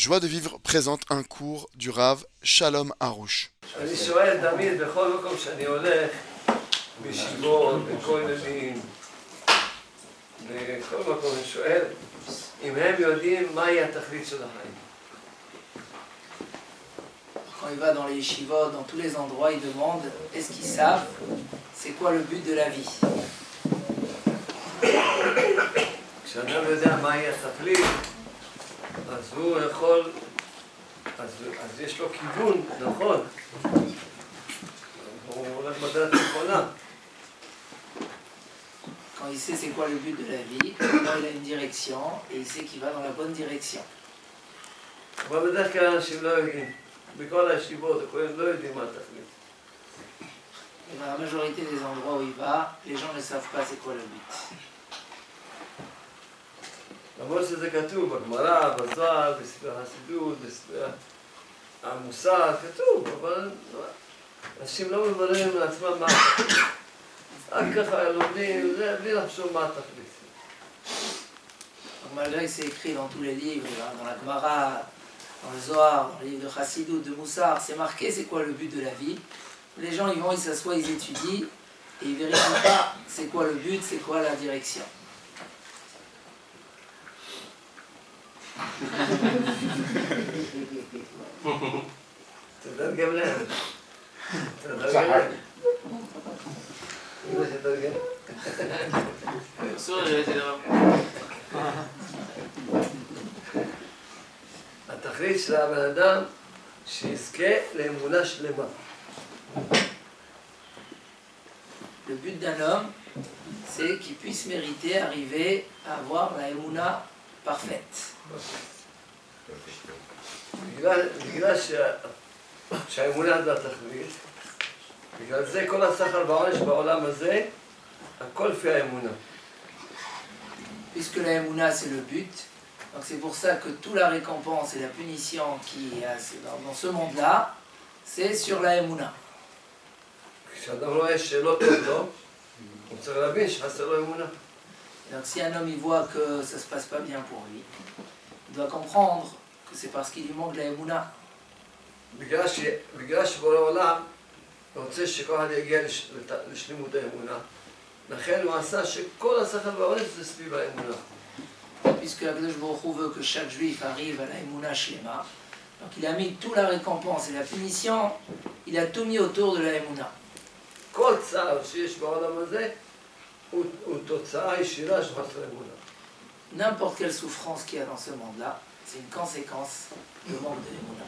Joie de vivre présente un cours du Rav Shalom Harouche. אני שואל תמיד בכל מקום שאני הולך, בישיבות, בכוללים, בכל מקום אני שואל אם הם יודעים מהי התכלית של החיים. Quand il va dans les yeshivot, dans tous les endroits, il demande est-ce qu'ils savent c'est quoi le but de la vie. כשאדם יודע מהי התכלית, אז הוא יכול, אז יש לו כיוון, נכון. הוא הולך בדרך נכונה. Quand il sait c'est quoi le but de la vie, alors il a une direction et il sait qu'il va dans la bonne direction. אבל בדרך כלל אנשים לא יודעים. בכל הישיבות, הכהנים לא יודעים מה התכלית. Et dans la majorité des endroits où il va, les gens ne savent pas c'est quoi le but. למרות שזה כתוב בגמרא, בזוהר, בספרי החסידות, בספרי המוסר, כתוב, אבל אנשים לא מבררים לעצמם מה התכלית. רק ככה לומדים, זה בלי לחשוב מה התכלית. Malgré que c'est écrit dans tous les livres, dans la Gemara, dans le Zohar, dans les livres de Chassidut, de Moussar, c'est marqué c'est quoi le but de la vie. Les gens ils vont, ils s'assoient, ils étudient et ils vérifient pas c'est quoi le but, c'est quoi la direction. תתרגם להם. תתרגם להם. אמא שתרגם. התכלית של הבן אדם שיזכה לאמונה שלמה. Le but d'un homme, c'est qu'il puisse mériter, arriver à avoir la émouna parfaite. בגלל שהאמונה זה התכלית, בגלל זה כל השכל והעונש בעולם הזה, הכל לפי האמונה. Puisque la émouna c'est le but, donc c'est pour ça que toute la récompense et la punition qui est dans ce monde-là, c'est sur la émouna. כשאדם רואה שלא טוב לו, הוא צריך להבין שחסר לו אמונה. Donc si un homme il voit que ça se passe pas bien pour lui, il doit comprendre que c'est parce qu'il lui manque de la émouna. בגלל שבורא עולם רוצה שכל אחד יגיע לשלימות האמונה, לכן הוא עשה שכל השכל והעונש זה סביב האמונה. Puisque Akadosh Baruch Hu veut que chaque juif arrive à la émouna shlema, donc il a mis toute la récompense et la punition, il a tout mis autour de la émouna. כל צער שיש בעולם הזה הוא תוצאה ישירה של חוסר אמונה. N'importe quelle souffrance qu'il y a dans ce monde-là, c'est une conséquence du manque de l'émouna.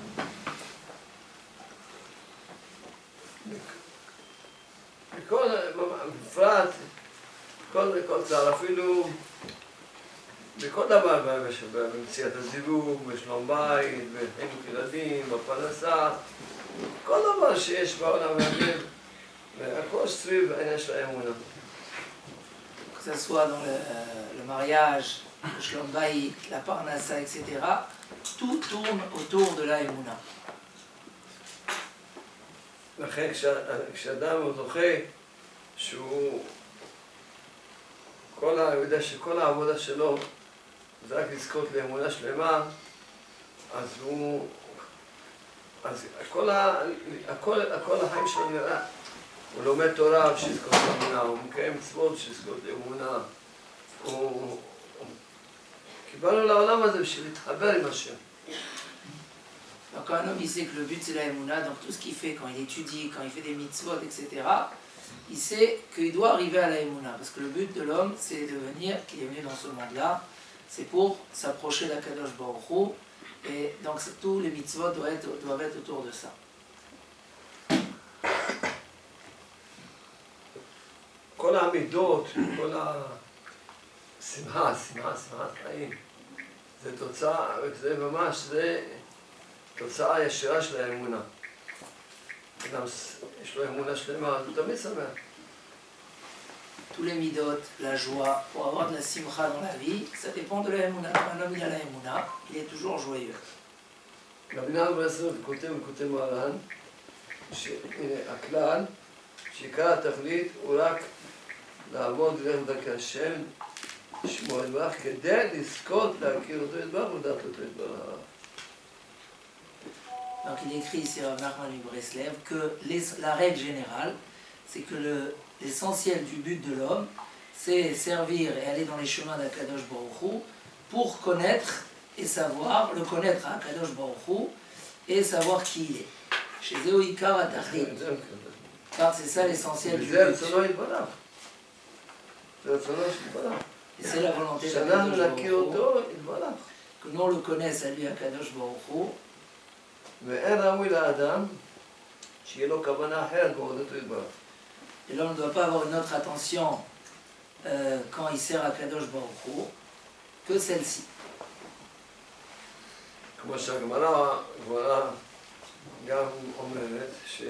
בפרט, כל צער, אפילו בכל דבר, במציאת הזיווג, בשלום בית, בחינוך ילדים, בפרנסה, כל דבר שיש בעולם הזה, והכל סביב העניין של האמונה. Que ce soit dans le mariage, le shlom bayit, la parnassa, etc., tout tourne autour de la émouna. לכן כשאדם הוא זוכה שהוא יודע שכל העבודה שלו זה רק לזכות לאמונה שלמה, אז כל החיים שלו נראה, הוא לומד תורה שיזכות לאמונה, הוא מקיים מצוות שיזכות לאמונה, קיבלנו לעולם הזה בשביל להתחבר עם השם. Donc quand un homme il sait que le but c'est la émouna, donc tout ce qu'il fait quand il étudie, quand il fait des mitzvot, etc., il sait qu'il doit arriver à la émouna. Parce que le but de l'homme c'est de venir, qu'il est venu dans ce monde-là, c'est pour s'approcher d'Akadosh Baruch Hu, et donc tous les mitzvot doivent être autour de ça. כל העמידות, כל השמחת חיים, זה תוצאה, זה ממש, זה תוצאה ישירה של האמונה. אדם יש לו אמונה שלמה, אז הוא תמיד שמח. Tous les midot, la joie, pour avoir de la simcha dans la vie, ça dépend de la émouna. Quand un homme il a la émouna, il est toujours joyeux. רבי נחמן ברסלב כותב מרן, שהנה הכלל, שעיקר התכלית הוא רק לעבוד דרך דרכי השם, לשמוע את ברך, כדי לזכות להכיר אותו את ברך ולדעת אותו את ברך. Donc il écrit ici Rav Nachman Breslev que la règle générale, c'est que l'essentiel du but de l'homme, c'est servir et aller dans les chemins d'Akadosh Baruch Hu pour connaître et savoir, le connaître à Akadosh Baruch Hu et savoir qui il est. Chez Zéoïkar Atachlit. Car c'est ça l'essentiel du but. Et c'est la volonté d'Akadosh Baruch Hu. Que nous on le connaisse à lui Akadosh Baruch Hu. Et l'homme ne doit pas avoir une autre attention quand il sert à Kadosh Baruch Hu que celle-ci. כמו שהגמרא גם אומרת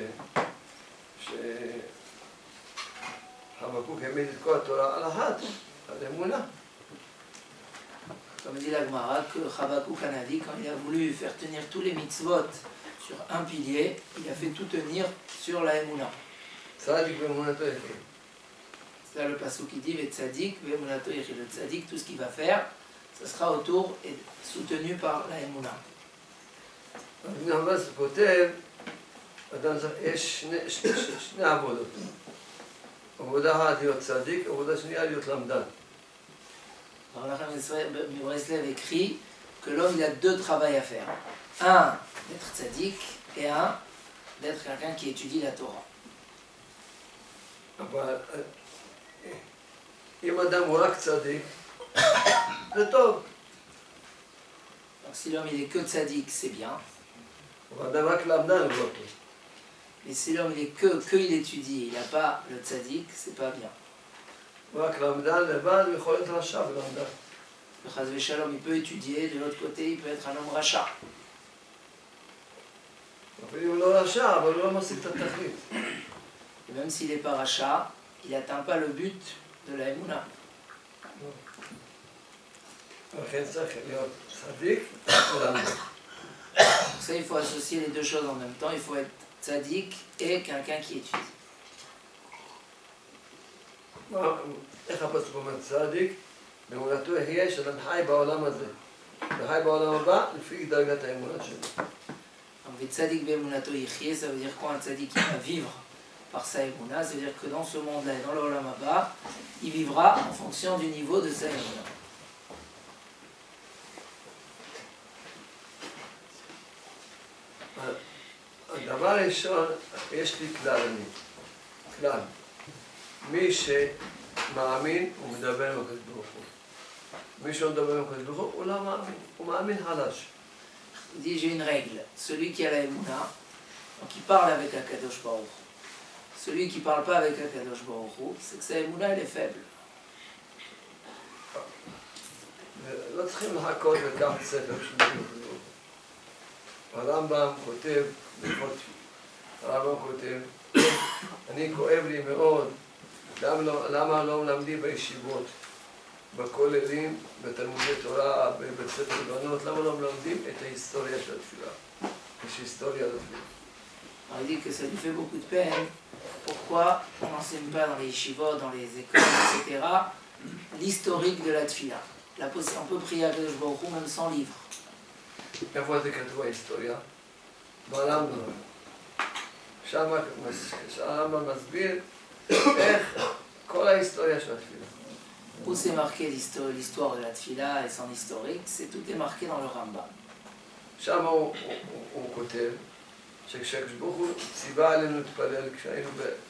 שחבקוק העמיד את כל התורה על ההד, על אמונה. Comme dit la Gemara, que Habakkuk Hanavi, quand il a voulu faire tenir tous les mitzvot sur un pilier, il a fait tout tenir sur la Emouna. צדיק באמונתו יחיה. C'est là le passage qui dit, Tzadik, Be'emunato yechid. Le Tzadik, tout ce qu'il va faire, ce sera autour et soutenu par la Emouna. רבי נחמן כותב, יש שני עבודות. עבודה אחת להיות צדיק, עבודה שנייה להיות למדן. Rav Nachman Breslev écrit que l'homme il a deux travails à faire. Un, d'être tzaddik, et un, d'être quelqu'un qui étudie la Torah. אבל אם אדם הוא רק צדיק, זה טוב. Donc si l'homme il est que tzaddik, c'est bien. אבל אדם רק למדן הוא לא טוב. Mais si l'homme il est que il étudie, il n'a pas le tzaddik, c'est pas bien. הוא רק למדן לבד, הוא יכול להיות רשע ולמדן. Le chas v'shalom, il peut étudier, de l'autre côté, il peut être un homme rachat. אפילו הוא לא רשע, אבל הוא לא משיג את התכלית. Et même s'il n'est pas rachat, il n'atteint pas le but de la Emouna. לכן צריך להיות צדיק ולמדן. Pour ça, il faut associer les deux choses en même temps. Il faut être tzaddik et quelqu'un qui étudie. איך הפסוק אומר צדיק? באמונתו יחיה שאדם חי בעולם הזה. וחי בעולם הבא לפי דרגת האמונה שלו. Donc, tzaddik be'emunato yichye, ça veut dire quoi? Un tzaddik qui va vivre par sa Emouna, ça veut dire que dans ce monde-là et dans le Olam Haba, il vivra en fonction du niveau de sa Emouna. הדבר הראשון, יש לי כלל. מי שמאמין הוא מדבר עם הקדוש ברוך הוא. מי שלא מדבר עם הקדוש ברוך הוא, הוא לא מאמין, הוא מאמין חלש. Il dit, j'ai une règle. Celui qui a la Emouna, donc il parle avec Akadosh Baruch Hu. Celui qui ne parle pas avec Akadosh Baruch Hu, c'est que sa Emouna, elle est faible. לא צריכים לחכות לקחת ספר של הקדוש ברוך הוא. הרמב"ם כותב, הרמב"ם כותב, אני כואב לי מאוד, למה לא מלמדים בישיבות, בכוללים, בתלמודי תורה, בבית ספר לבנות, למה לא מלמדים את ההיסטוריה של התפילה? יש היסטוריה לתפילה. Alors il dit que ça lui fait beaucoup de peine. Pourquoi on n'enseigne pas dans les yeshivot, dans les écoles, etc., l'historique de la tfila? On peut prier à Kadosh Baruch Hu même sans livre. איפה זה כתוב ההיסטוריה? ברמב"ם. שם הרמב"ם מסביר איך כל ההיסטוריה של התפילה. Où c'est marqué l'histoire de la tfila et son historique, tout est marqué dans le Rambam. שם הוא כותב שכשהקדוש ברוך הוא ציווה עלינו להתפלל כשהיינו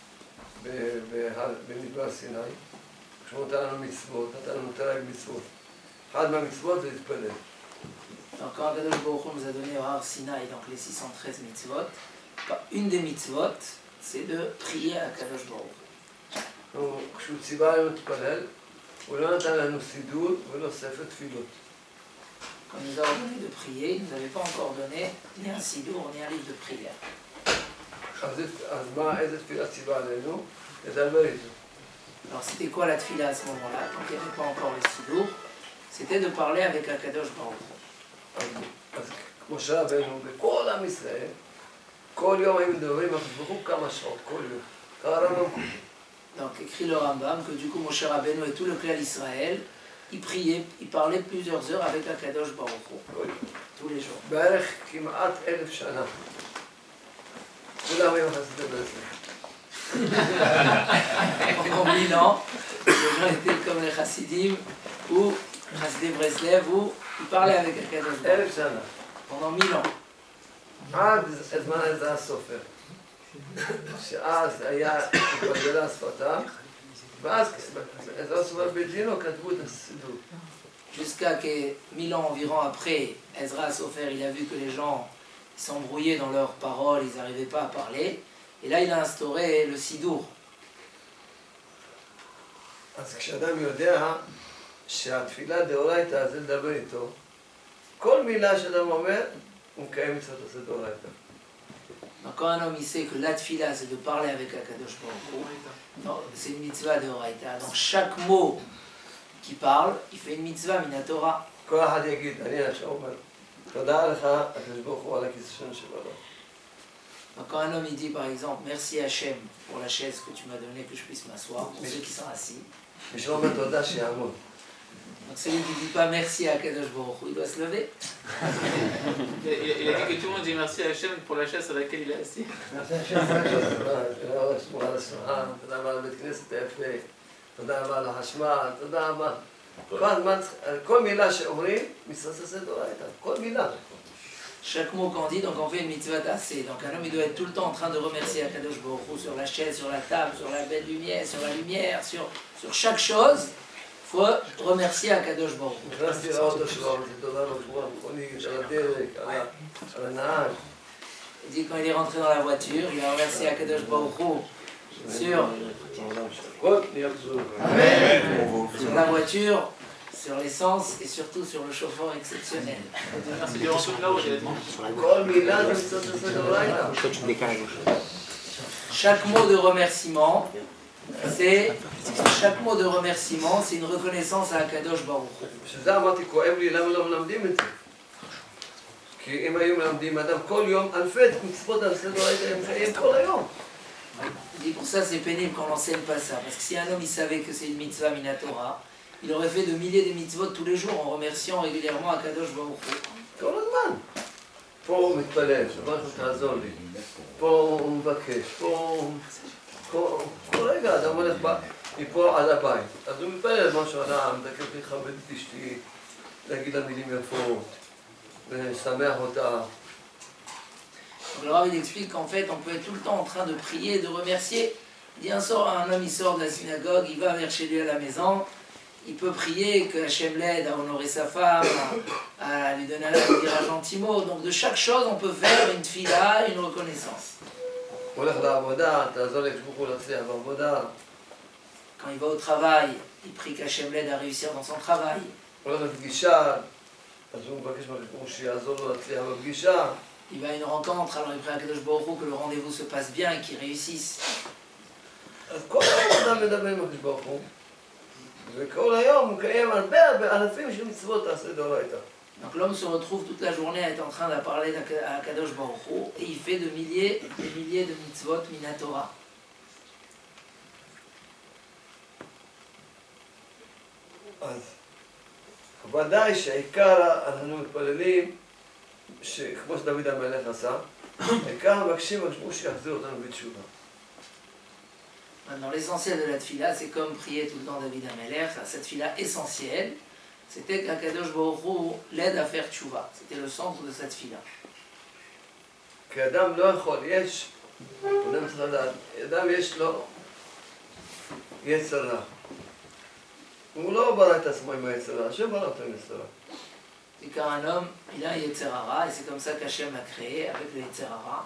במדבר סיני, כשהוא נתן לנו מצוות, נתן לנו תרי"ג מצוות. אחד מהמצוות זה להתפלל. Donc quand Kadosh Baruch Hu nous a donné au Har Sinaï, donc les 613 mitzvot, une des mitzvot, c'est de prier à Kadosh Baruch Hu. כשהוא ציווה עלינו להתפלל, הוא לא נתן לנו סידור ולא ספר תפילות. Quand il nous a ordonné de prier, il ne nous avait pas encore donné ni un sidour, ni un livre de prière. אז מה, איזה תפילה ציווה עלינו? לדבר איתו. Alors c'était quoi la tfila à ce moment-là, quand il n'y avait pas encore le sidour? C'était de parler avec Akadosh Baruch Hu. אז כמו שרבנו, בכל עם ישראל, כל יום היו מדברים על הקדוש ברוך הוא כמה שעות, כל יום. ככה הרמב"ם כותב. Donc écrit le Rambam que du coup Moshe Rabbeinu et tout le clan d'Israël, il priait, il parlait plusieurs heures avec Akadosh Baruch Hu, tous les jours. בערך כמעט 1000 שנה. כולם היו חסידי ברסלב. Pendant 1000 ans, les gens étaient comme les chassidim ou Chassidé Breslev où ils parlaient avec Akadosh Baruch 1000 שנה. Hu pendant 1000 ans. עד זמן עזרא הסופר. שאז היה התבלבלה שפתה, ואז עזרא הסופר בדינו כתבו את הסידור. Jusqu'à que 1000 ans environ après, Ezra Sofer, il a vu que les gens s'embrouillaient dans leurs paroles, ils n'arrivaient pas à parler. Et là, il a instauré le Sidour. אז כשאדם יודע שהתפילה דאורייתא זה לדבר איתו, כל מילה שאדם אומר, הוא מקיים מצוות עשה דאורייתא. Donc quand un homme il sait que la tfila c'est de parler avec Akadosh Baruch Hu, c'est une mitzvah de Horaïta. Donc chaque mot qu'il parle, il fait une mitzvah minatora. כל אחד יגיד, אני עכשיו אומר, תודה לך, הקדוש ברוך הוא על הכיסא שלנו שבעולם. Donc quand un homme il dit par exemple merci Hachem pour la chaise que tu m'as donnée que je puisse m'asseoir, pour ceux qui sont assis. מי שלא אומר תודה שיעמוד. Donc celui qui ne dit pas merci à Akadosh Baruch Hu, il doit se lever. Il a dit que tout le monde dit merci à Hachem pour la chaise sur laquelle il est assis. תודה רבה לבית כנסת היפה, תודה רבה לחשמל, תודה רבה. כל הזמן, כל מילה שאומרים, מצוות עשה דאורייתא, כל מילה. Chaque mot qu'on dit, donc on fait une mitzvah tassée. Donc un homme il doit être tout le temps en train de remercier Akadosh Baruch Hu sur la chaise, sur la table, sur la belle lumière, sur la lumière, sur chaque chose. Il faut remercier Akadosh Baruch Hu. נכנסתי לאוטו שלו, אמרתי תודה רבה, מכונית, על הדלק, על הנהג. Il dit quand il est rentré dans la voiture, il a remercié Akadosh Baruch Hu sur la voiture, sur l'essence et surtout sur le chauffeur exceptionnel. Merci durant toute la route, honnêtement. כל מילה זה מצוות עשה דאורייתא. Chaque mot de remerciement, c'est une reconnaissance à Akadosh Baruch Hu. בשביל זה אמרתי, כואב לי למה לא מלמדים את זה. כי אם היו מלמדים אדם כל יום, אלפי מצוות עשה דאורייתא הם חיים כל היום. Il dit pour ça c'est pénible qu'on n'enseigne pas ça, parce que si un homme il savait que c'est une mitzvah minatora, il aurait fait de milliers de mitzvot tous les jours en remerciant régulièrement Akadosh Baruch Hu. כל הזמן. פה הוא מתפלל, שבמשהו תעזור לי. פה הוא מבקש, כל רגע אדם הולך מפה עד הבית. אז הוא מתפלל משהו אדם, מדקף לכבד את אשתי, להגיד לה מילים יפות, לשמח אותה. Donc, le Rav il explique qu'en fait on peut être tout le temps en train de prier, de remercier. Il dit un homme il sort de la synagogue, il va vers chez lui à la maison, il peut prier que Hachem l'aide à honorer sa femme, à lui donner lui dire un gentil mot. Donc de chaque chose on peut faire une tfila, une reconnaissance. הוא הולך לעבודה, תעזור לי כשבוכו להצליח בעבודה. Quand il va au travail, il prie qu'Hachem l'aide à réussir dans son travail. הוא הולך לפגישה, אז הוא מבקש מהקדוש שיעזור לו להצליח בפגישה. Il va à une rencontre, alors il prie à Kadosh Baruch Hu que le rendez-vous se passe bien et qu'il réussisse. אז כל היום אדם מדבר עם הקדוש ברוך הוא, וכל היום הוא מקיים הרבה אלפים של מצוות תעשה דאורייתא. Donc l'homme se retrouve toute la journée à être en train de parler à Kadosh Baruch Hu et il fait des milliers de mitzvot minatora. אז ודאי שהעיקר אנחנו מתפללים, כמו שדוד המלך עשה, העיקר מבקשים שיחזיר אותנו בתשובה. Maintenant, l'essentiel de la tfila, c'est comme prier tout le temps David Ameler, cette tfila essentielle, c'était qu'Akadosh Baruch Hu l'aide à faire tchouva. C'était le centre de cette tfila. כי אדם לא יכול, אדם צריך לדעת, אדם יש לו יצר רע. הוא לא ברא את עצמו עם היצר רע, השם ברא אותו עם יצר רע. C'est car un homme, il a un Yetzer Hara, et c'est comme ça qu'Hachem l'a créé, avec le Yetzer Hara.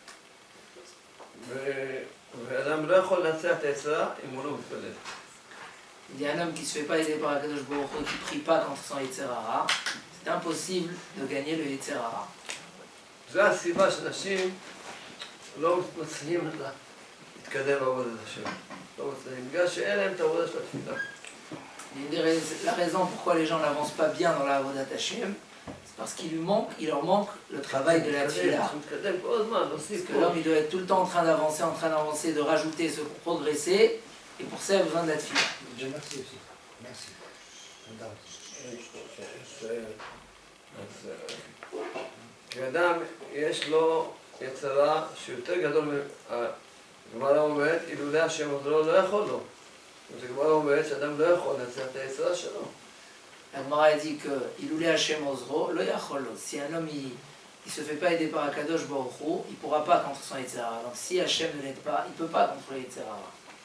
ואדם לא יכול לנצח את היצר רע אם הוא לא מתפלל. Il y a un homme qui ne se fait pas aider par Akadosh Baruch Hu, qui ne prie pas contre son Yetzer Hara. C'est impossible de gagner le Yetzer Hara. זו הסיבה שאנשים לא מצליחים להתקדם בעבודת השם. לא מצליחים, בגלל שאין להם את העבודה של התפילה. La raison pourquoi les gens n'avancent pas bien dans la Avodat Hashem, c'est parce qu'il leur manque le travail de la tefila. Parce que l'homme il doit être tout le temps en train d'avancer, de rajouter, pour progresser, et pour ça il a besoin de la tefila. Merci aussi. Merci. כשאדם יש לו יצרה שיותר גדול מהגמרא אומרת, אילולא השם עוזרו לא יכול לו. הגמרא אומרת שאדם לא יכול לנצח את היצרה שלו. La Gemara dit que Iloulé Hashem Ozro, lo yacholo. Si un homme il se fait pas aider par Akadosh Baruch Hu, il pourra pas contre son Yetzirah. Donc si Hashem ne l'aide pas, il peut pas contre le Yetzirah.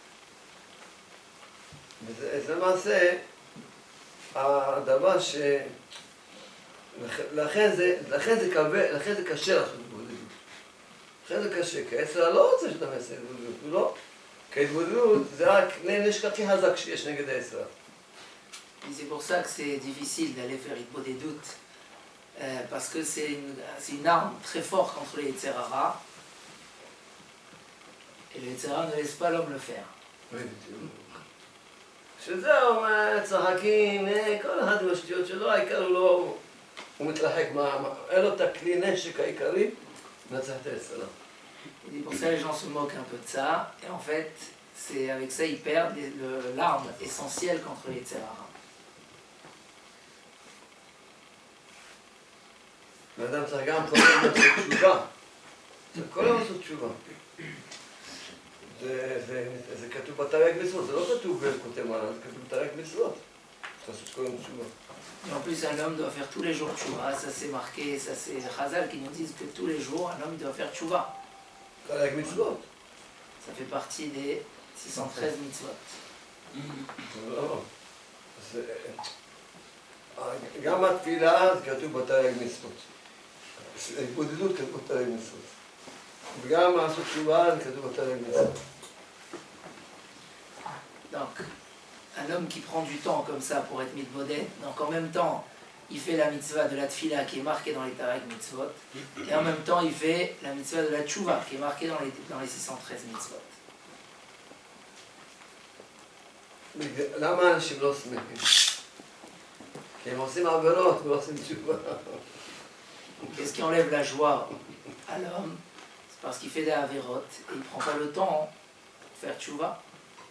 וזה למעשה הדבר ש... לכן זה קשה לעשות התבודדות. לכן זה קשה, כי היצר לא רוצה שאתה מעשה התבודדות, הוא לא. כי התבודדות זה רק נשק הכי חזק שיש נגד היצר. C'est pour ça que c'est difficile d'aller faire Hitbodedut, parce que c'est une arme très forte contre le Yetzirah, et le Yetzirah ne laisse pas l'homme le faire. שזהו, צחקים, כל אחד עם השטויות שלו, העיקר הוא מתרחק, אין לו את הכלי נשק העיקרי, לנצח את היצרה. Et pour ça les gens se moquent un peu de ça, et en fait, c'est avec ça ils perdent l'arme essentielle contre le Yetzirah. האדם צריך גם כל הזמן לעשות תשובה. צריך כל הזמן לעשות תשובה. זה כתוב בתרי"ג מצוות, זה לא כתוב בכותב מרן, זה כתוב בתרי"ג מצוות. צריך לעשות כל הזמן תשובה. Et en plus, un homme doit faire tous les jours tchouva, ça c'est marqué, ça c'est les Chazal qui nous disent que tous les jours, un homme doit faire tchouva. תרי"ג מצוות. Ça fait partie des 613 mitzvot. גם התפילה זה כתוב בתרי"ג מצוות. ההתבודדות כתוב בתרי"ג מצוות. וגם לעשות תשובה זה כתוב בתרי"ג מצוות. Donc, un homme qui prend du temps comme ça pour être mitboded, donc en même temps, il fait la mitzvah de la tfila qui est marquée dans les Tarek mitzvot, et en même temps, il fait la mitzvah de la tchouva qui est marquée dans les 613 mitzvot. למה אנשים לא שמחים? כי הם עושים עבירות ולא עושים תשובה. Qu'est-ce qui enlève la joie à l'homme? C'est parce qu'il fait des avérotes et il ne prend pas le temps pour faire tchouva.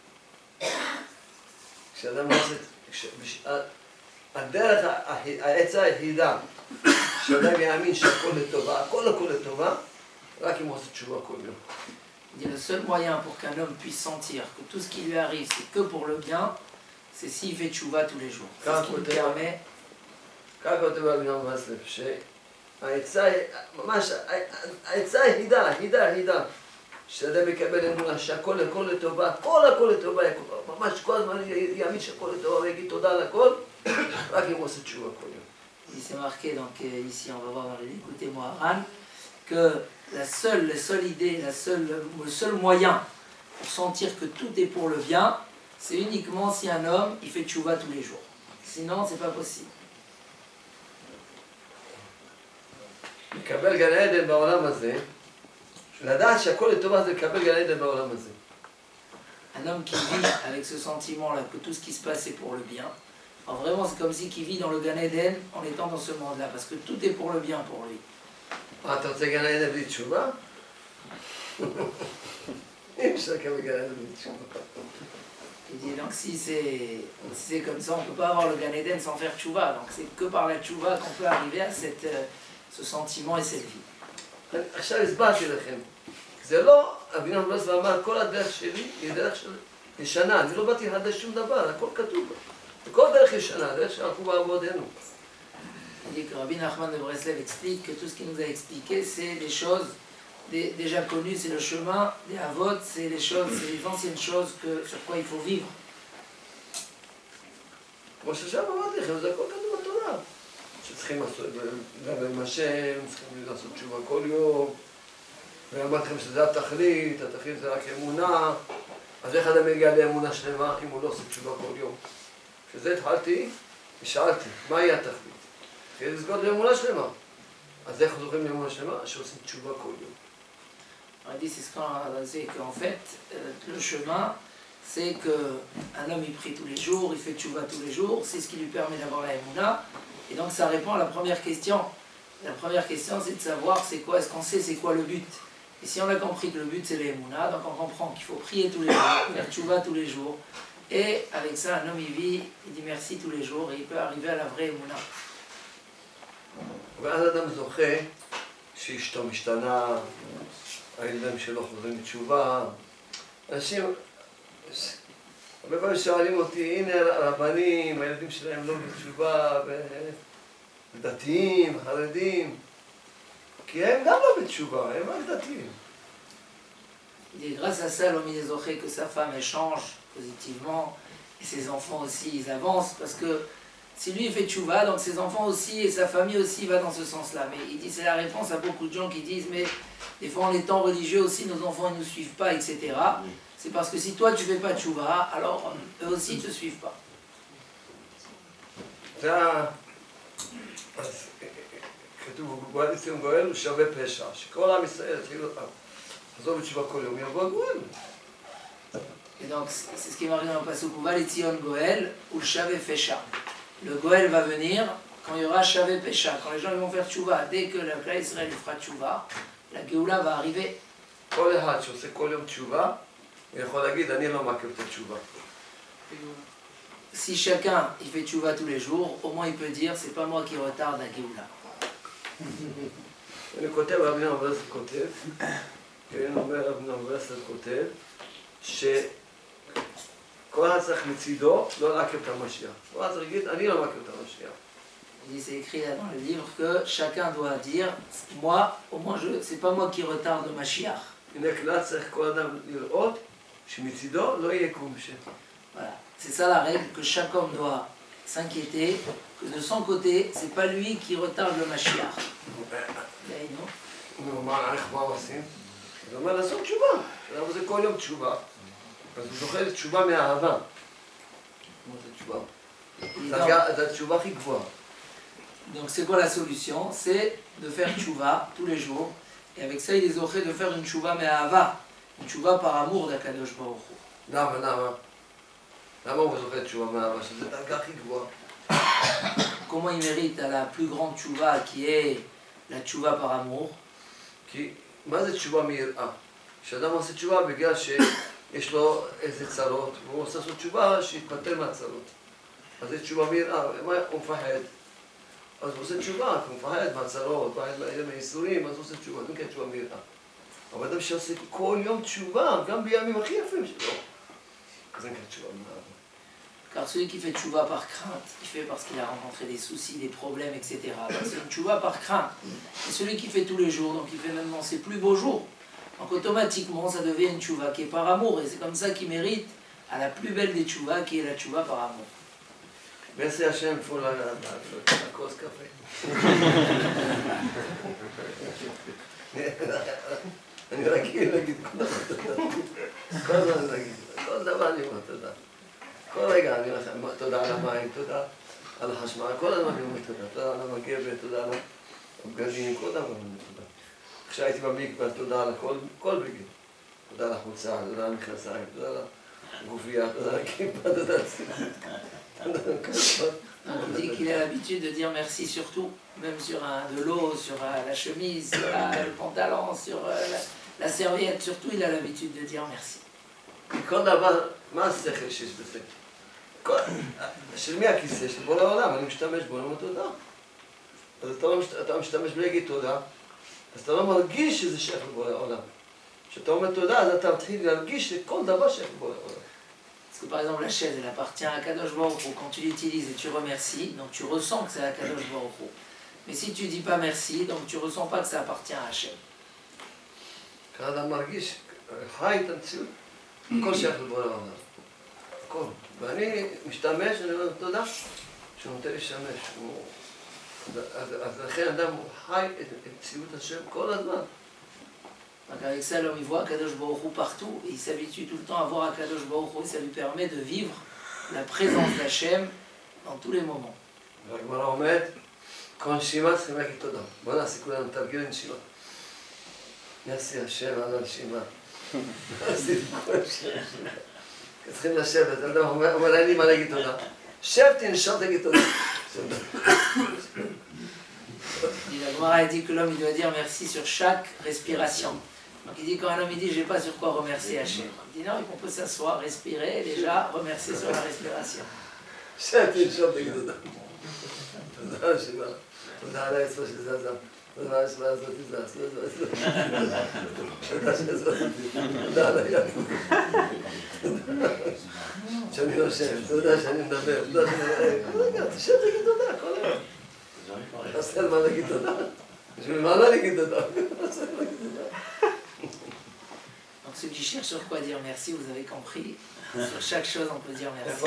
כשאדם לא עושה... הדרך, העצה היחידה, שאדם יאמין שהכל לטובה, הכל לטובה, רק אם הוא עושה תשובה כל יום. Il dit le seul moyen pour qu'un homme puisse sentir que tout ce qui lui arrive c'est que pour le bien, c'est s'il fait tchouva tous les jours. C'est ce qui lui permet. כך כותב רבי נחמן ברסלב, שהעצה, ממש, העצה היחידה, שאדם יקבל אמונה שהכל לטובה, הכל לטובה, ממש כל הזמן יאמין שהכל לטובה ויגיד תודה על הכל, רק אם הוא עושה תשובה כל יום. Il s'est marqué, donc ici on va voir dans les écoutés Moharan, que la seule idée, le seul moyen pour sentir que tout est pour le bien, c'est uniquement si un homme il fait tchouva tous les jours. Sinon, c'est pas possible. לקבל גן עדן בעולם הזה, לדעת שהכל לטובה זה לקבל גן עדן בעולם הזה. Un homme qui vit avec ce sentiment-là, que tout ce qui se passe est pour le bien, alors vraiment c'est comme si qu'il vit dans le Gan Eden en étant dans ce monde-là, parce que tout est pour le bien pour lui. אתה רוצה גן עדן בלי תשובה? אי אפשר לקבל גן עדן בלי תשובה. Il dit donc si c'est comme ça, on ne peut pas avoir le Gan Eden sans faire tchouva. Donc c'est que par la tchouva qu'on peut arriver à ce sentiment et cette vie. עכשיו הסברתי לכם. זה לא, רבי נחמן ברסלב אמר, כל הדרך שלי היא דרך ישנה. אני לא באתי לחדש שום דבר, הכל כתוב. כל דרך ישנה, דרך שהלכו בעבודנו. Il dit que Rabbi Nachman de Breslev explique que tout ce qu'il nous a expliqué, c'est des choses déjà connues, c'est le chemin des Havot, c'est les anciennes choses sur quoi il faut vivre. כמו ששם אמרתי לכם, זה הכל כתוב בתורה. שצריכים לעשות, לדבר עם השם, צריכים לעשות תשובה כל יום. ואמרתי לכם שזה התכלית זה רק אמונה. אז איך אדם יגיע לאמונה שלמה אם הוא לא עושה תשובה כל יום? כשזה התחלתי, ושאלתי, מהי התכלית? התחיל לזכות לאמונה שלמה. אז איך זוכים לאמונה שלמה? שעושים תשובה כל יום. On dit, c'est ce qu'on a dit, qu'en fait, le chemin, c'est qu'un homme il prie tous les jours, il fait tchouva tous les jours, c'est ce qui lui permet d'avoir la émouna. Et donc ça répond à la première question. La première question, c'est de savoir c'est quoi, est-ce qu'on sait c'est quoi le but. Et si on a compris que le but c'est l'émouna, donc on comprend qu'il faut prier tous les jours, faire tchouva tous les jours, Et avec ça, un homme, il vit, il dit merci tous les jours, et il peut arriver à la vraie émouna. ואז אדם זוכה שאשתו משתנה, הילדים שלו חוזרים בתשובה. אנשים, הרבה פעמים שואלים אותי, הנה הרבנים, הילדים שלהם לא בתשובה, דתיים, חרדים, כי הם גם לא בתשובה, הם רק דתיים. Il dit, grâce à ça, l'homme il est zoché que sa femme elle change positivement, et ses enfants aussi ils avancent, parce que si lui il fait tchouva, donc ses enfants aussi et sa famille aussi va dans ce sens-là. Mais il dit, c'est la réponse à beaucoup de gens qui disent, mais des fois en étant religieux aussi, nos enfants ils ne nous suivent pas, etc. C'est parce que si toi tu fais pas tchouva, alors eux aussi ne te suivent pas. כתוב, גואל ציון גואל הוא שווה פשע, שכל עם ישראל יתחילו לחזור בתשובה כל יום, יבוא הגואל. Et donc c'est ce qui est marqué dans le passage où va les Tzion Goël ou Shavé Fesha. Le Goël va venir quand il y aura Shavé Pesha, quand les gens ils vont faire tchouva. Dès que le clan Israël fera tchouva, la Géoula va arriver. כל אחד שעושה כל יום תשובה, הוא יכול להגיד, אני לא מכיר את התשובה. Si chacun il fait tchouva tous les jours, au moins il peut dire c'est pas moi qui retarde la Géoula. אני כותב, רבי נחמן ברסלב כותב, כן, אומר רבי נחמן ברסלב כותב, שכל אחד צריך מצידו לא לעכב את המשיח. כל אחד צריך להגיד, אני לא מכיר את המשיח. C'est écrit là dans le livre que chacun doit dire, moi, au moins c'est pas moi qui retarde le Mashiach. הנה כלל צריך כל אדם לראות שמצידו לא יהיה כלום שם. Voilà. C'est ça la règle, que chaque homme doit s'inquiéter, que de son côté, c'est pas lui qui retarde le Mashiach. נו, מה עושים? זה אומר לעשות תשובה. למה זה כל יום תשובה? אז הוא זוכה לתשובה מאהבה. כמו זה תשובה? זה התשובה הכי גבוהה. Donc c'est quoi la solution? C'est de faire tchouva tous les jours. Et avec ça, il est zoché de faire une tchouva me'ahava. Une tchouva par amour d'Akadosh Baruch Hu. למה הוא זוכה תשובה מאהבה? שזה דרגה הכי גבוהה. Comment il mérite à la plus grande tchouva qui est la tchouva par amour? כי מה זה תשובה מיראה? כשאדם עושה תשובה בגלל שיש לו איזה צרות, והוא עושה לעשות תשובה שיתפטר מהצרות. אז זה תשובה מיראה, הוא מפחד. אז הוא עושה תשובה, כי הוא מפחד מהצרות, מפחד מהייסורים, אז הוא עושה תשובה, זה נקרא תשובה מיראה. אבל אדם שעושה כל יום תשובה, גם בימים הכי יפים שלו, אז זה נקרא תשובה מיראה. Car celui qui fait tchouva par crainte, il fait parce qu'il a rencontré des soucis, des problèmes, etc. Donc c'est une tchouva par crainte. Et celui qui fait tous les jours, donc il fait même dans ses plus beaux jours. Donc automatiquement, ça devient une tchouva qui est par amour. Et c'est comme ça qu'il mérite à la plus belle des tchouva, qui est la tchouva par amour. Merci Hachem pour la cause café. אני רגיל להגיד כל הזמן להגיד, כל דבר אני אומר תודה. כל רגע אני אומר לכם, תודה על המים, תודה על החשמל, כל הזמן אני אומר תודה. תודה על המגבת, תודה על הבגדים, כל דבר אני אומר תודה. כשהייתי במקווה, תודה על כל בגד. תודה על החולצה, תודה על המכנסיים, תודה על הגופייה, תודה על הכיפה, תודה על ציטוט. On dit qu'il a l'habitude de dire merci sur tout, même sur de l'eau, sur la chemise, sur le pantalon, sur la serviette, surtout il a l'habitude de dire merci. כל דבר, מה השכל שיש בזה? של מי הכיסא? של בורא העולם, אני משתמש בו, אני אומר תודה. אז אתה משתמש בלי להגיד תודה, אז אתה לא מרגיש שזה שייך לבורא העולם. כשאתה אומר תודה, אז אתה מתחיל להרגיש שכל דבר שייך לבורא העולם. Parce que par exemple la chaise, elle appartient à Kadosh Baruch Hu. Quand tu l'utilises et tu remercies, donc tu ressens que c'est à Kadosh Baruch Hu. Mais si tu dis pas merci, donc tu ressens pas que ça appartient à Hachem. כאדם מרגיש, חי את המציאות, הכל שייך לבורא העולם. הכל. ואני משתמש, אני אומר תודה, שהוא נותן להשתמש. אז לכן אדם חי את מציאות השם כל הזמן. Donc avec ça, l'homme il voit Kadosh Baruch Hu partout et il s'habitue tout le temps à voir Kadosh Baruch Hu et ça lui permet de vivre la présence d'Hachem dans tous les moments. והגמרא אומרת, כל נשימה צריכים להגיד תודה. בוא נעשה כולנו תרגיל נשימה. נעשה השם על הנשימה. נעשה כל נשימה. צריכים לשבת, אדם אומר, אין לי מה להגיד תודה. שב תנשום תגיד תודה. La Gemara a dit que l'homme il doit dire merci sur chaque respiration. Donc il dit, quand un homme il dit, je n'ai pas sur quoi remercier Hachem. Il dit non, on peut s'asseoir, respirer, et déjà remercier sur la respiration. תודה שבא, תודה על האצבע שזזה, תודה על האצבע הזאת זז, תודה שזאת, תודה על היד, שאני יושב, תודה שאני מדבר, תודה שאני... רגע, תשב תגיד תודה, כל היום. תעשה על מה להגיד תודה. בשביל מה לא להגיד תודה? Donc ceux qui cherchent sur quoi dire merci, vous avez compris, sur chaque chose on peut dire merci.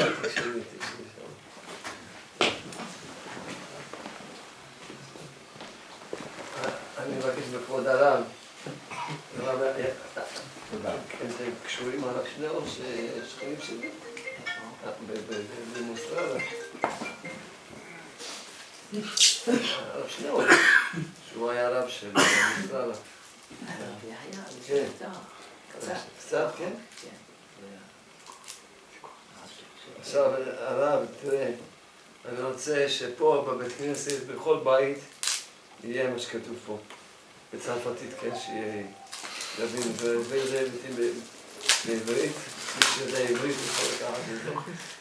אני מבקש בכבוד הרב, הם קשורים הרב שניאור ששכנים שלי, במוסטרלה. הרב שניאור, שהוא היה רב של מוסטרלה. כן, קצת, כן? עכשיו הרב, תראה, אני רוצה שפה בבית כנסת, בכל בית, יהיה מה שכתוב פה, בצרפתית, כן, שיהיה יבין, וזה היבטים בעברית, מי שיודע עברית יכול לקחת את זה.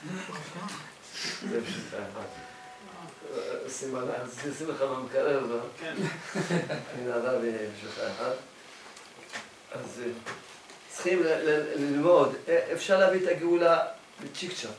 זה פשוט אחד. שים לך במקרר, לא? כן. הנה הרב יהיה בשביל אחד. אז צריכים ללמוד, אפשר להביא את הגאולה בצ'יק צ'אק.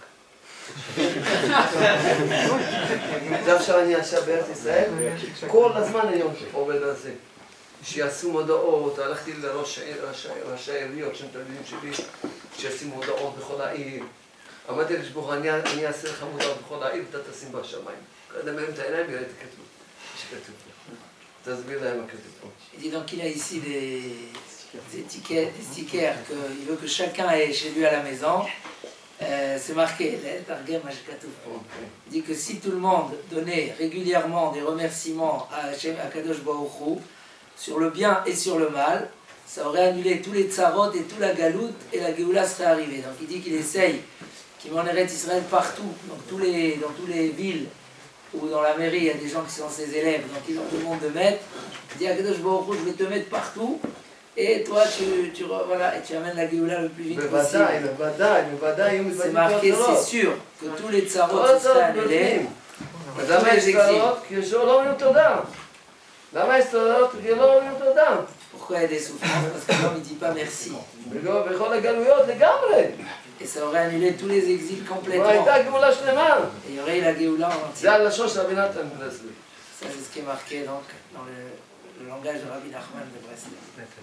זה עכשיו אני עכשיו בארץ ישראל, כל הזמן היום עובד על זה. שיעשו מודעות, הלכתי לראשי העיריות שהם תלמידים שלי, שיעשו מודעות בכל העיר. אמרתי לשבוך, אני אעשה לך מודעות בכל העיר ואתה תשים בשמיים. קודם מהם את העיניים ויראה את הכתוב, שכתוב פה. תסביר להם מה כתוב פה. Il dit donc il a ici des étiquettes, des stickers qu'il veut que chacun ait chez lui à la maison. C'est marqué, il dit que si tout le monde donnait régulièrement des remerciements à Hachem, à Kadosh Baruch Hu, sur le bien et sur le mal, ça aurait annulé tous les tsarot et toute la galoute et la Géoula serait arrivée. Donc il dit qu'il essaye, qu'il m'enverrait Israël partout, dans toutes les villes ou dans la mairie, il y a des gens qui sont ses élèves, donc ils ont tout le monde de mettre. Il dit à Kadosh Baruch Hu, je vais te mettre partout. Et toi, voilà, et tu amènes la Géoula le plus vite possible. C'est marqué, c'est sûr, que tous les tsarot seraient annulés. למה יש צרות? כי לא אומרים תודה. למה יש צרות? כי לא אומרים תודה. Pourquoi il y a des souffrances? Parce que l'homme ne dit pas merci. בכל הגלויות לגמרי. Et ça aurait annulé tous les exils complètement. והייתה גאולה שלמה. Et il y aurait eu la Géoula en entier. זה הלשון של רבי נתן ברסלב. Ça, c'est ce qui est marqué donc dans le langage de Rabbi Nachman de Breslev.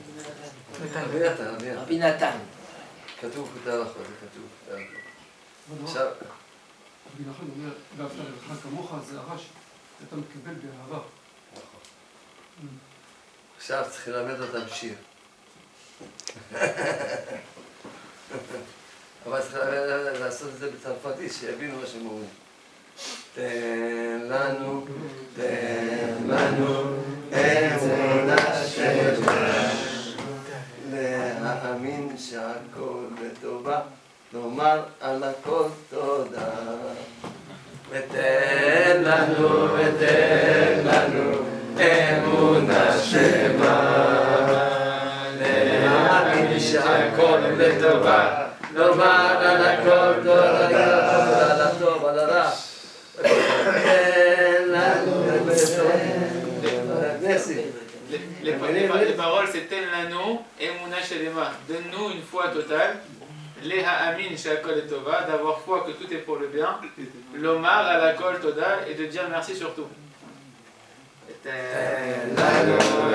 רבי נתן. כתוב בתהלכות, זה כתוב בתהלכות. עכשיו... רבי נחמן אומר, ואהבת לרעך כמוך, זה הרש, אתה מקבל באהבה. נכון. עכשיו צריכים ללמד אותם שיר. אבל צריך לעשות את זה בצרפתית, שיבינו מה שהם אומרים. תן לנו אמונה שלמה, להאמין שהכל לטובה, לומר על הכל תודה. ותן לנו אמונה שלמה, להאמין שהכל לטובה, לומר על הכל תודה, על הטוב, על הרע. Les paroles c'est Ten Lano, Emuna Shelema, donne-nous une foi totale, Leha Amin Shakol et Tova, d'avoir foi que tout est pour le bien, Lomar à la Kol Toda et de dire merci surtout. Ten Lano,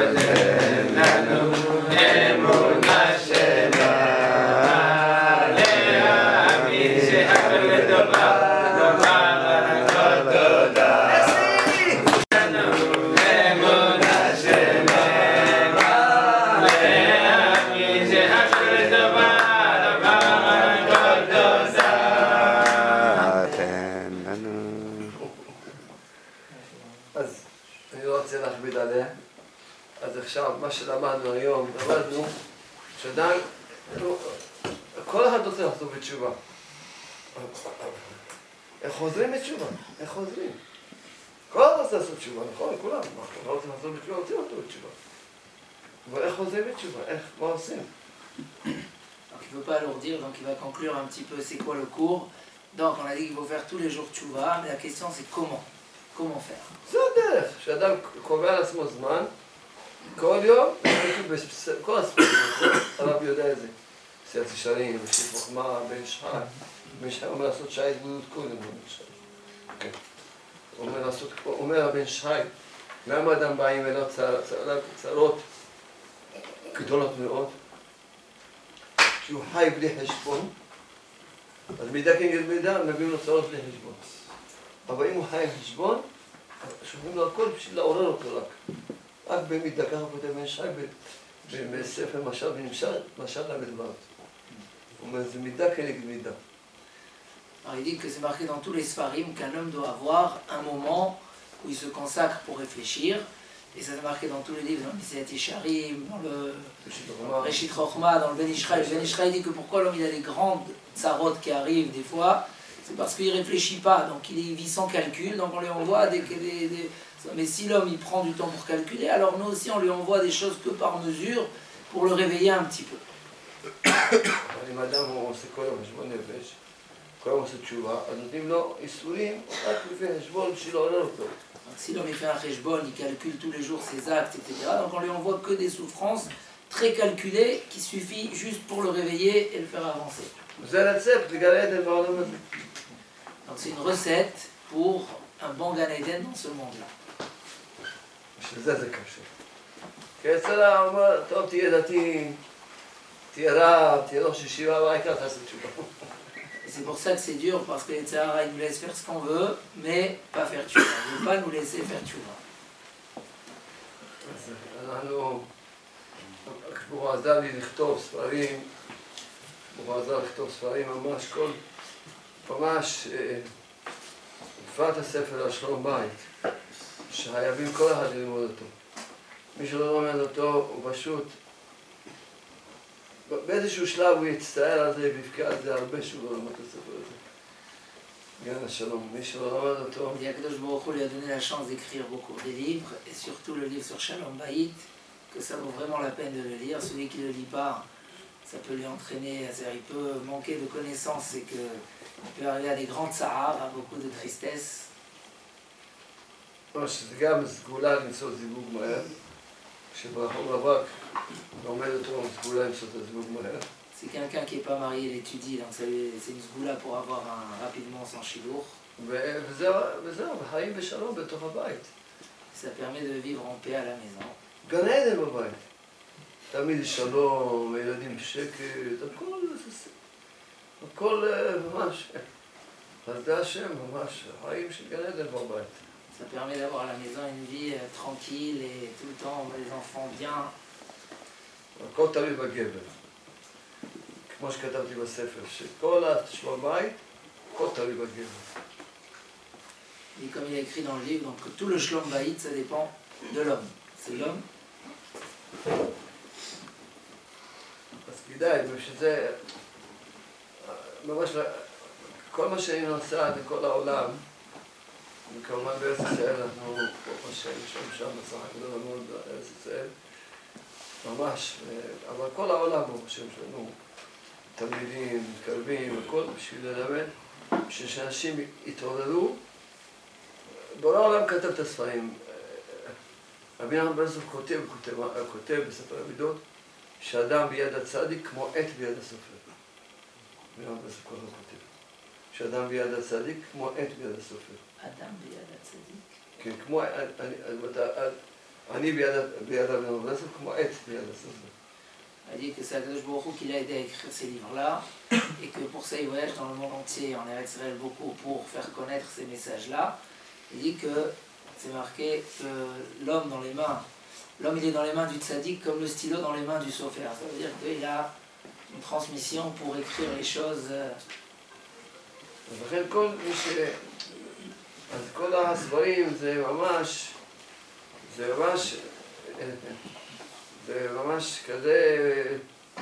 Emuna Shelema, Leha Amin Shakol et Tova. אז עכשיו, מה שלמדנו היום, למדנו שעדיין, כל אחד רוצה לחזור בתשובה. איך חוזרים בתשובה? איך חוזרים? כל אחד רוצה לעשות תשובה, נכון? כולם. לא רוצים לחזור בתשובה, רוצים לחזור בתשובה. אבל איך חוזרים בתשובה? מה עושים? Donc il ne peut pas alourdir, donc il va conclure un petit peu c'est quoi le cours. Donc on a dit qu'il faut faire tous les jours tchouva, mais la question c'est comment? Comment faire? זה הדרך, שאדם קובע לעצמו זמן, כל יום, כל הספרים, הרב יודע את זה. סיעת ישרים, משיב חוכמה, בן שחי. בן שחי אומר לעשות שעה התבודדות קודם, בן שחי. אומר הבן שחי, למה אדם באים אליו צרות גדולות מאוד? שהוא חי בלי חשבון, אז מידה כנגד מידה מביאים לו צרות בלי חשבון. אבל אם הוא חי עם חשבון, שומעים לו הכל בשביל לעורר אותו רק במידה, ככה כותב בן שחי בספר משל ונמשל, משל למדבר. הוא אומר, זה מידה כנגד מידה. Alors il dit que c'est marqué dans tous les Sfarim qu'un homme doit avoir un moment où il se consacre pour réfléchir. Et ça c'est marqué dans tous les livres, dans le Messiat Yesharim, dans le Reshit Chochma, dans le Ben Ishraï. Le Ben Ishraï dit que pourquoi l'homme il a des grandes tsarotes qui arrivent des fois, c'est parce qu'il ne réfléchit pas, donc il vit sans calcul, donc on lui envoie des... Mais si l'homme il prend du temps pour calculer, alors nous aussi on lui envoie des choses que par mesure pour le réveiller un petit peu. אם אדם הוא עושה כל יום חשבון נפש, כל יום עושה תשובה, אז נותנים לו איסורים רק לפי חשבון בשביל לעורר אותו. Si l'homme il fait un cheshbon, il calcule tous les jours ses actes, etc. Donc on lui envoie que des souffrances très calculées qui suffit juste pour le réveiller et le faire avancer. זה רצפט לגן עדן בעולם הזה. Donc c'est une recette pour un bon Gan Eden dans ce monde-là. בשביל זה קשה. כי אצלה הוא אומר, טוב תהיה דתי, תהיה רב, תהיה ראש ישיבה, והעיקר תעשה תשובה. C'est pour ça que c'est dur, parce que les Tzahara, ils nous laissent faire ce qu'on veut, mais pas faire tchouva. Ils ne veulent pas nous laisser faire tchouva. הוא עזר לי לכתוב ספרים, ממש כל, ממש, בפרט הספר על שלום בית, שחייבים כל אחד ללמוד אותו. מי שלא לומד אותו הוא פשוט, באיזשהו שלב הוא יצטער על זה ויבכה על זה הרבה שהוא לא למד את הספר הזה. גן השלום, מי שלא למד אותו... Akadosh Baruch Hu lui a donné la chance d'écrire beaucoup de livres, et surtout le livre sur Shalom Bayit, que ça vaut vraiment la peine de le lire. Celui qui ne le lit pas, ça peut lui entraîner, il peut manquer de connaissances et qu'il peut arriver à des grandes sahares, à beaucoup de tristesse. שזה גם סגולה למצוא זיווג מהר, כשברחוב רווק לומד אותו סגולה למצוא את הזיווג מהר. C'est quelqu'un qui n'est pas marié, il étudie, donc c'est une sgoula pour avoir rapidement son chidour. וזהו, וחיים בשלום בתוך הבית. Ça permet de vivre en paix à la maison. גן עדן בבית. תמיד שלום, ילדים בשקט, הכל ממש, חסדי השם, ממש, חיים של גן עדן בבית. Ça permet d'avoir à la maison une vie tranquille et tout le temps les enfants bien. הכל תלוי בגבר. כמו שכתבתי בספר, שכל השלום בית, הכל תלוי בגבר. Et comme il a écrit dans le livre, donc tout le shlom bayit, ça dépend de l'homme. C'est l'homme. אז כדאי, ושזה, ממש, כל מה שאני נוסע בכל העולם, וכמובן בארץ ישראל אנחנו, ברוך השם, שם בסך הכל מאוד בארץ ישראל, ממש, אבל כל העולם, ברוך השם, שלנו, תלמידים, מתקרבים, הכל בשביל ללמד, בשביל שאנשים יתעוררו. בעולם העולם כתב את הספרים. רבי נחמן ברסלב כותב בספר המידות, שאדם ביד הצדיק כמו עת ביד הסופר. רבי נחמן ברסלב ככה כותב. שאדם ביד הצדיק כמו עת ביד הסופר. אדם ביד הצדיק. כן, כמו, אני ביד רבי נחמן ברסלב כמו עת ביד הסופר. Il a dit que c'est Akadosh Baruch Hu qui l'a aidé à écrire ces livres-là, et que pour ça il voyage dans le monde entier, en Eretz Israël beaucoup, pour faire connaître ces messages-là. Il dit que c'est marqué que l'homme dans les mains, l'homme il est dans les mains du tzaddik comme le stylo dans les mains du sofer. Ça veut dire qu'il a une transmission pour écrire les choses. לכן כל מי ש... אז כל הספרים זה ממש כזה,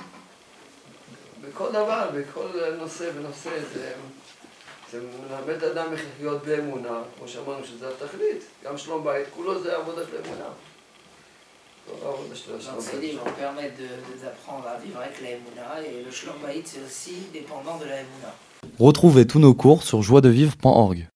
בכל דבר, בכל נושא ונושא, זה מלמד אדם איך לחיות באמונה, כמו שאמרנו שזה התכלית, גם שלום בית, כולו זה עבודה של אמונה. Donc ces livres permettent d'apprendre à vivre avec la Emouna, et le Shlom Bayit c'est aussi dépendant de la Emouna. Retrouvez tous nos cours sur joiedevivre.org.